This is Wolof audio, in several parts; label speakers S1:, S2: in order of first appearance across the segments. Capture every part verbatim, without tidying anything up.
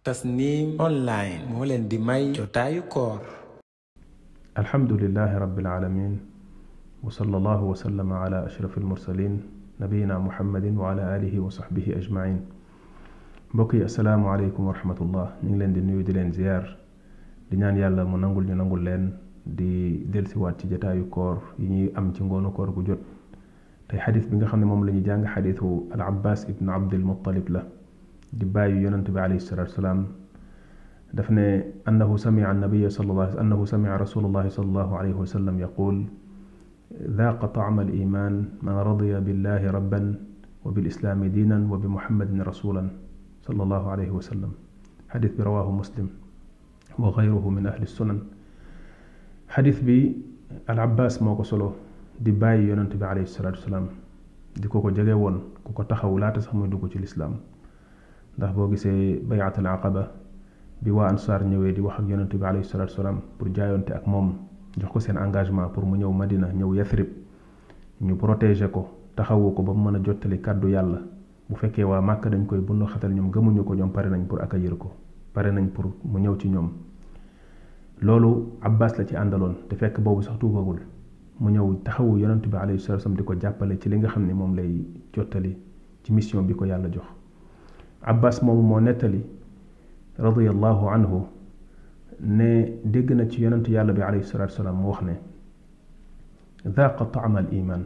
S1: Tasnim online moo leen di may jotaayu koor.
S2: alhamdulillahi rabbil alamin wa sallallahu wa sallama ala ashrafil mursalin nabiyina muhammadin wa ala alihi wa sahbihi ajmain. mbokk yi assalaamu aleykum wa rahmatullah. ñu ngi leen di nuyu di leen ziyaar di ñaan yàlla mu nangul ñu nangul leen di delsiwaat ci jotaayu koor yi ñuy am ci ngoonu koor gu jot. tey xadis bi nga xam ne moom la ñu jàng xadisu al abbas ibn abdul muttalib la di bàyyi yonent bi alayhi salatu wasalaam daf ne annahu samia annabiya sallallahu annahu samia rasulullahi sallallahu alayhi wa sallam yaqul ذاق طعم الإيمان من رضي بالله ربا وبالإسلام دينا وبمحمد رسولا صلى الله عليه وسلم. حديث رواه مسلم وغيره من أهل السنن. حديث بي العباس موكو سولو di bàyyi yonent bi alayhi salatu wasalaam di ko ko jege woon ku ko taxaw laata sax muy dugg ci lislaam ndax boo gisee bayatul aqaba bi waa ansaar ñëwee di wax ak yonent bi alayhi salatu wasalaam pour jaayonte ak moom jox ko seen engagement pour mu ñëw Madina ñëw Yathrib ñu protéger ko taxawu ko ba mu mën a jottali kàddu yàlla bu fekkee waa Màkka dañ koy bundu xatal ñoom gëmuñu ko ñoom pare nañ pour accueillir ko pare nañ pour mu ñëw ci ñoom. loolu Abbas la ci àndaloon te fekk boobu sax tuubagul mu ñëw taxawu yonent bi alayhi salatu wasallam di ko jàppale ci li nga xam ne moom lay jottali ci mission bi ko yàlla jox. Abbas moomu moo nettali radiyallahu anhu ne dégg na ci yonent yàlla bi alayhi salatu wasallam mu wax ne dhaaqa ta'ma al iman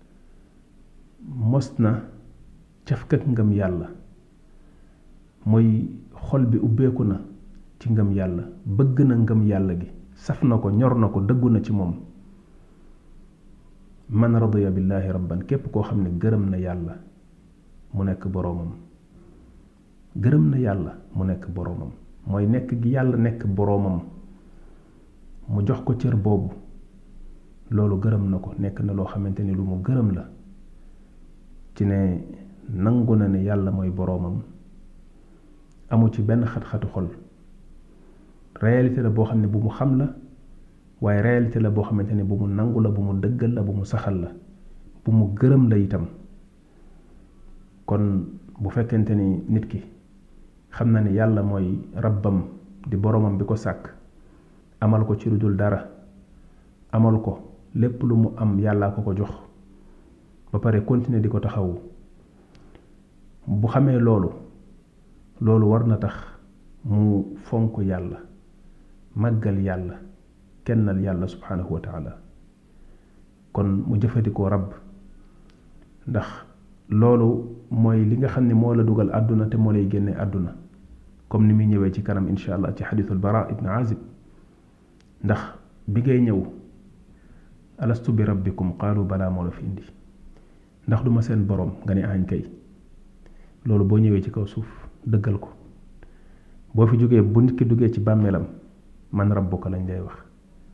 S2: mos na cafkak ngëm yàlla mooy xol bi ubbeeku na ci ngëm yàlla bëgg na ngëm yàlla gi saf na ko ñor na ko dëggu na ci moom. man radiya billahi rabban képp koo xam ne gërëm na yàlla mu nekk boroomam gërëm na yàlla mu nekk boroomam mooy nekk gi yàlla nekk boroomam mu jox ko cër boobu loolu gërëm na ko nekk na loo xamante ni lu mu gërëm la ci ne nangu na ne yàlla mooy boroomam amu ci benn xat-xatu xol réalité la boo xam ne bu mu xam la waaye réalité la boo xamante ne bu mu nangu la bu mu dëggal la bu mu saxal la bu mu gërëm la itam. kon bu fekkente ni nit ki xam na ne yàlla mooy rabbam di boromam bi ko sàkk amal ko ci lu dul dara amal ko lépp lu mu am yàllaa ko ko jox ba pare continuer di ko taxawu bu xamee loolu loolu war na tax mu fonk yàlla màggal yàlla kennal yàlla subhanahu wa taala kon mu jëfandikoo rabb ndax loolu mooy li nga xam ne moo la dugal àdduna te moo lay génne àdduna comme ni muy ñëwee ci kanam insha allah ci xadithul bara ibn azib ndax bi ngay ñëw alastu bi rabbikum qaalu balaa moo la fi indi ndax duma seen borom nga ne añ kay loolu boo ñëwee ci kaw suuf dëggal ko boo fi jógee bu nit ki duggee ci bàmmeelam man rabbuka lañ lay wax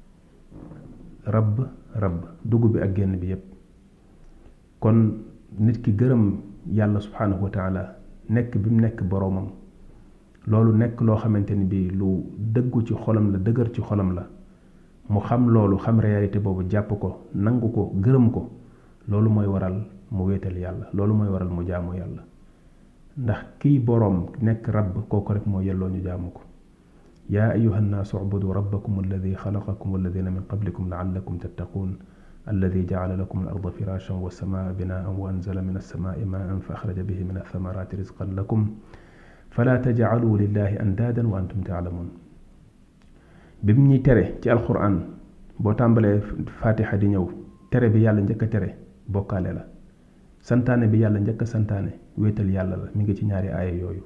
S2: rabb rabb dugg bi ak génn bi yépp kon nit ki gërëm yàlla subhanahu wa taala nekk bi mu nekk boroomam loolu nekk loo xamante ni bi lu dëggu ci xolam la dëgër ci xolam la mu xam loolu xam réalité boobu jàpp ko nangu ko gërëm ko loolu mooy waral mu wéetal yàlla loolu mooy waral mu jaamu yàlla ndax kiy boroom nekk rabb kooku rek moo yelloo ñu jaamu ko. يا أيها الناس اعبدوا ربكم الذي خلقكم والذين من قبلكم لعلكم تتقون الذي جعل لكم الأرض فراشا والسماء بناء وأنزل من السماء ماء فأخرج به من الثمرات رزقا لكم فلا تجعلوا لله أندادا وأنتم تعلمون. بمني تري تي القرآن بو تامبالي فاتحة دي نيو تري بي يالا نجاك تري بوكالي لا سانتاني بي يالا نجاك سانتاني ويتال يالا لا ميغي تي ñaari aaya yooyu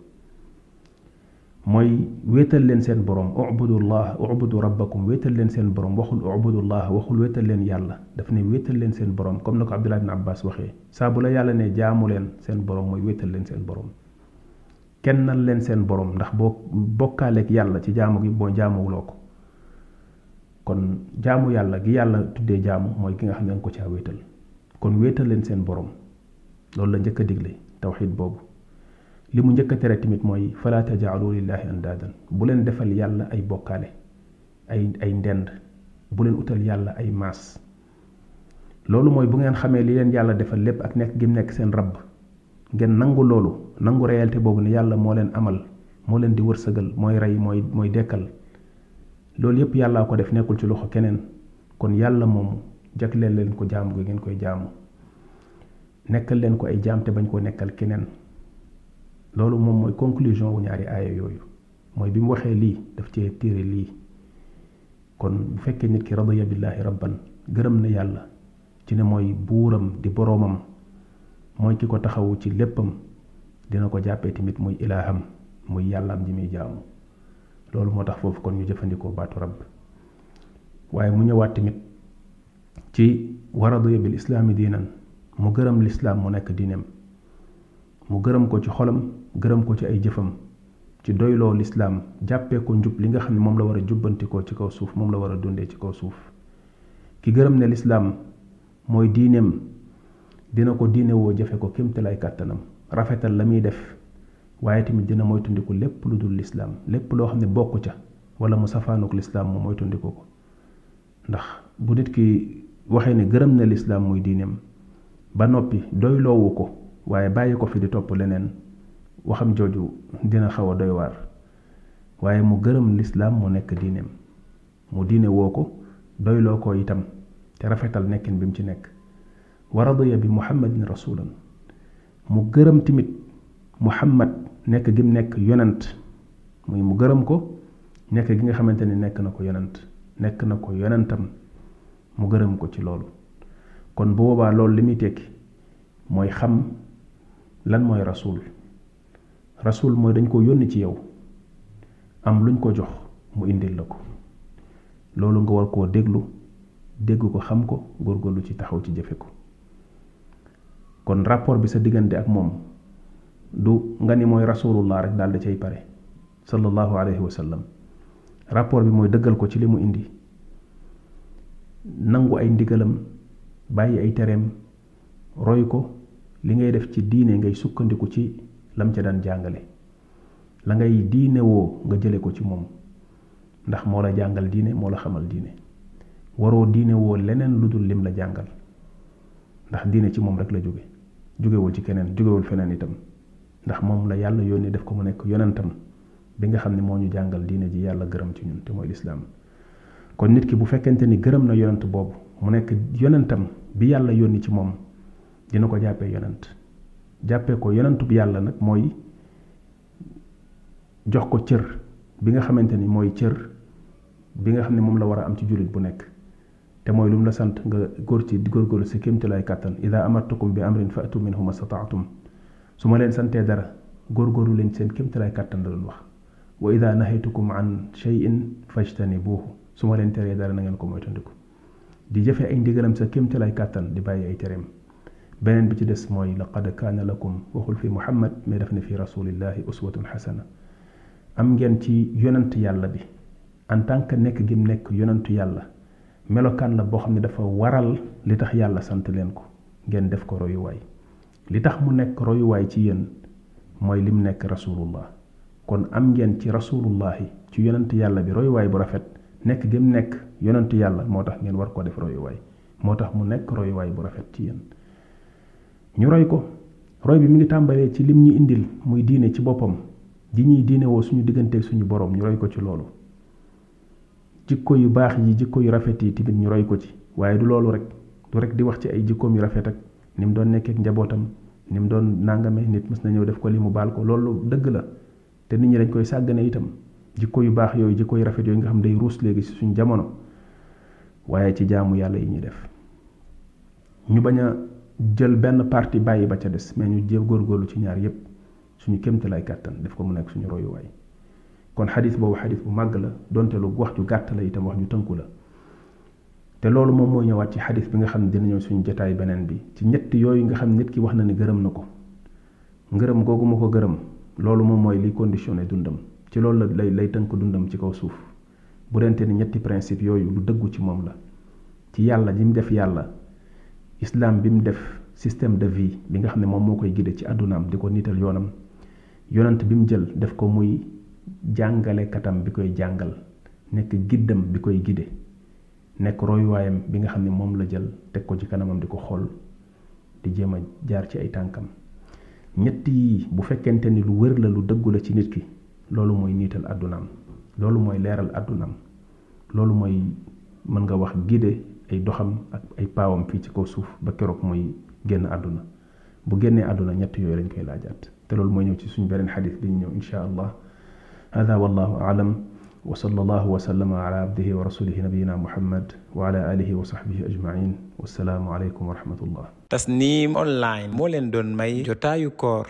S2: mooy wéetal leen seen borom ubudullah ubudu rabbakum wéetal leen seen borom waxul ubudullah waxul wéetal leen yàlla daf ne wéetal leen seen borom comme na ko Abdullah ibn Abbas waxee saa bu la yàlla ne jaamu leen seen borom mooy wéetal leen seen borom kennal leen seen borom ndax boo bokkaaleeg yàlla ci jaamu gi boo jaamuwuloo ko kon jaamu yàlla gi yàlla tuddee jaamu mooy ki nga xam ne nga ko caa wéetal kon wéetal leen seen borom loolu la njëkk a digle tawxiid boobu. li mu njëkk a tere tamit mooy fala tajaalu lillahi andaadan bu leen defal yàlla ay bokkaale ay ay ndend bu leen utal yàlla ay maas loolu mooy bu ngeen xamee li leen yàlla defal lépp ak nekk gi mu nekk seen rabb ngeen nangu loolu nangu réalité boobu ne yàlla moo leen amal moo leen di wërsëgal mooy rey mooy mooy dekkal loolu yépp yàllaa ko def nekkul ci loxo keneen kon yàlla moom jagleel leen ko jaamu gi ngeen koy jaamu nekkal leen ko ay jaam te bañ koo nekkal keneen loolu moom mooy conclusion wu ñaari aaya yooyu mooy bi mu waxee lii daf cee téere lii kon bu fekkee nit ki radiya billahi rabban gërëm na yàlla ci ne mooy buuram di boroomam mooy ki ko taxawu ci léppam dina ko jàppee tamit muy ilaaham muy yàllaam ji muy jaamu loolu moo tax foofu kon ñu jëfandikoo baatu rabb waaye mu ñëwaat tamit ci wa radiya bil islaami diinan mu gërëm lislaam mu nekk diineem mu gërëm ko ci xolam gërëm ko ci ay jëfam ci doyloo lislaam jàppee ko njub li nga xam ne moom la war a jubbantikoo ci kaw suuf moom la war a dundee ci kaw suuf ki gërëm ne lislaam mooy diineem dina ko diine woo jëfe ko kémtalaay kàttanam rafetal la muy def waaye tamit dina moytundiku lépp lu dul lislaam lépp loo xam ne bokku ca wala mu safaanuk lislaam mu moytundiku ko ndax bu nit ki waxee ne gërëm na lislaam muy diineem ba noppi doyloowu ko waaye bàyyi ko fi di topp leneen waxam jooju dina xaw a doy waar waaye mu gërëm lislaam mu nekk diineem mu diine woo ko doyloo ko itam te rafetal nekkin bi mu ci nekk wa radiya bi muhammadin rasulan mu gërëm tamit muhammad nekk gi mu nekk yonent muy mu gërëm ko nekk gi nga xamante ni nekk na ko yonent nekk na ko yonentam mu gërëm ko ci loolu kon bu boobaa loolu li muy tekki mooy xam lan mooy rasul rasul mooy dañ ko yónni ci yow am luñ ko jox mu indil la ko loolu nga war koo déglu dégg ko xam ko góorgóorlu ci taxaw ci jëfe ko kon rapport bi sa diggante ak moom du nga ni mooy rasulullah rek daal da cay pare sallallahu alayhi wa sallam rapport bi mooy dëggal ko ci li mu indi nangu ay ndigalam bàyyi ay tereem roy ko li ngay def ci diine ngay sukkandiku ci lam ca daan jàngale la ngay diine woo nga jële ko ci moom ndax moo la jàngal diine moo la xamal diine waroo diine woo leneen lu dul lim la jàngal ndax diine ci moom rek la jóge jógewul ci keneen jógewul feneen itam ndax moom la yàlla yónni def ko mu nekk yonentam bi nga xam ne moo ñu jàngal diine ji yàlla gërëm ci ñun te mooy lislaam kon nit ki bu fekkente ni gërëm na yonent boobu mu nekk yonentam bi yàlla yónni ci moom dina ko jàppee yonent jàppee ko yonentu bi yàlla nag mooy jox ko cër bi nga xamante ni mooy cër bi nga xam ne moom la war a am ci jullit bu nekk te mooy lu mu la sant nga góor ci góorgóorlu si kéemtalaay kàttan ida amartukum bi amrin fa'tu minhu mastata'tum su ma leen santee dara góorgóorlu leen seen kéemtalaay kàttan la doon wax wa ida nahaytukum an shay'in fajtanibuhu su ma leen teree dara na ngeen ko moytandiku di jëfe ay ndigalam sa kéemtalaay kàttan di bàyyi ay tereem beneen bi ci des mooy laqad kaana lakum waxul fi muhammad mais daf ne fi rasulillahi uswatun xasana am ngeen ci yonent yàlla bi en tant que nekk gim nekk yonentu yàlla melokaan la boo xam ne dafa waral li tax yàlla sant leen ko ngeen def ko royuwaay li tax mu nekk royuwaay ci yéen mooy lim nekk rasulullah kon am ngeen ci rasulullahi ci yonent yàlla bi royuwaay bu rafet nekk gim nekk yonentu yàlla moo tax ngeen war ko def royuwaay moo tax mu nekk royuwaay bu rafet ci yéen ñu roy ko roy bi mi ngi tàmbalee ci lim ñu indil muy diine ci boppam ji ñuy diine woo suñu digganteeg suñu borom ñu roy ko ci loolu jikko yu baax yi jikko yu rafet yi tamit ñu roy ko ci waaye du loolu rek du rek di wax ci ay jikkoom yu rafet ak ni mu doon nekkee ak njabootam ni mu doon nangame nit mës na ñëw def ko li mu baal ko loolu dëgg la te nit ñi dañ koy sàggane itam jikko yu baax yooyu jikko yu rafet yooyu nga xam day ruus léegi ci suñu jamono waaye ci jaamu yàlla yi ñuy def ñu bañ a jël benn parti bàyyi ba ca des mais ñu jéem góorgóorlu ci ñaar yépp suñu kéemtalaay kàttan def ko mu nekk suñu royuwaay kon xadis boobu xadis bu màgg la donte lu wax ju gàtt la itam wax ju tënku la te loolu moom mooy ñëwaat ci xadis bi nga xam ne dina ñëw suñu jotaay beneen bi ci ñett yooyu nga xam nit ki wax na ni gërëm na ko ngërëm googu ma ko gërëm loolu moom mooy liy conditionné dundam ci loolu la lay lay tënk dundam ci kaw suuf bu dente ni ñetti principe yooyu lu dëggu ci moom la ci yàlla ji mu def yàlla islam bi mu def système de vie bi nga xam ne moom moo koy gide ci àddunaam di ko niital yoonam yonant bi mu jël def ko muy jàngale katam bi koy jàngal nekk giddam bi koy gide nekk royuwaayam bi nga xam ne moom la jël teg ko ci kanamam di ko xool di jéem a jaar ci ay tànkam ñett yi bu fekkente ni lu wër la lu dëggu la ci nit ki loolu mooy niital àddunaam loolu mooy leeral àddunaam loolu mooy mën nga wax guider ay doxam ak ay paawam fii ci kaw suuf ba keroog mooy génn àdduna bu génnee àdduna ñett yooyu lañ koy laajaat te loolu mooy ñëw ci suñu beneen xadis bi ñu ñëw insha allah hada wallahu aalam wa sallallahu wa sallama ala abdihi wa rasulihi nabiyina muhammad wa ala alihi wa sahbihi ajmain wassalaamu alaykum wa rahmatullah.
S1: Tasnim online moo leen doon may jotaayu koor.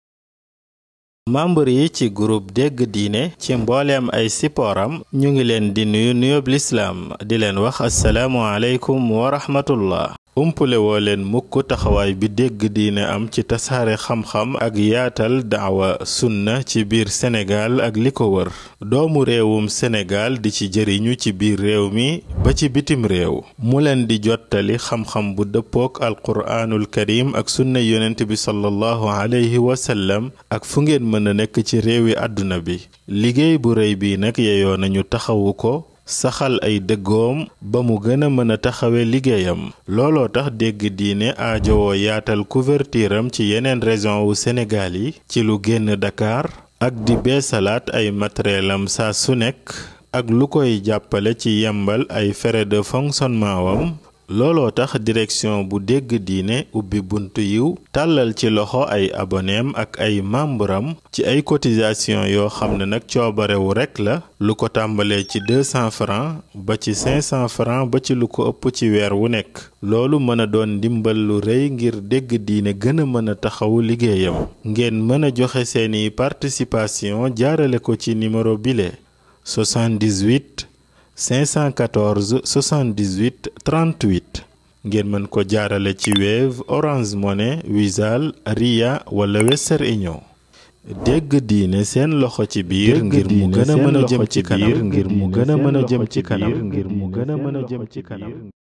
S3: membre yi ci groupe dégg diine ci mbooleem ay sipooram ñu ngi leen di nuyu nuyób lislaam di leen wax assalaamu aleykum wa rahmatullah. umpule woo leen mukk taxawaay bi dégg diine am ci tasaare xam-xam ak yaatal daawa sunna ci biir Sénégal ak li ko wër doomu réewum Sénégal di ci jëriñu ci biir réew mi ba ci bitim réew mu leen di jottali xam-xam bu dëppook alquraanul karim ak sunna yonent bi sallallahu alayhi wa sallam ak fu ngeen mën a nekk ci réewi àdduna bi liggéey bu rëy bi nag yeyoo nañu taxawu ko saxal ay dëggoom ba mu gën a mën a taxawe liggéeyam looloo tax dégg diine aajowoo yaatal couverture am ci yeneen région wu Sénégal yi ci lu génn Dakar ak di beesalaat ay matériel am saa su nekk ak lu koy jàppale ci yembal ay frais de fonctionnement wam looloo tax direction bu dégg diine ubbi buntu yiw tàllal ci loxo ay aboneem ak ay membram ci ay cotisation yoo xam ne nag coobarewu rekk la lu ko tàmbalee ci deux cents francs ba ci cinq cents francs ba ci lu ko ëpp ci weer wu nekk loolu mën a doon ndimbal lu rëy ngir dégg diine gën a mën a taxawu liggéeyam ngeen mën a joxe seeni participation jaarale ko ci numéro bile soixante-dix-huit cinq cent quatorze soixante-dix-huit trente-huit ngeen mën ko jaarale ci Wave Orange Money Wizall Ria wala Western Union dégg diine seen loxo ci biir ngir mu gën a mën a jëm ci kanam ngir mu gën a mën a jëm ci kanam ngir mu gën a mën a jëm ci kanam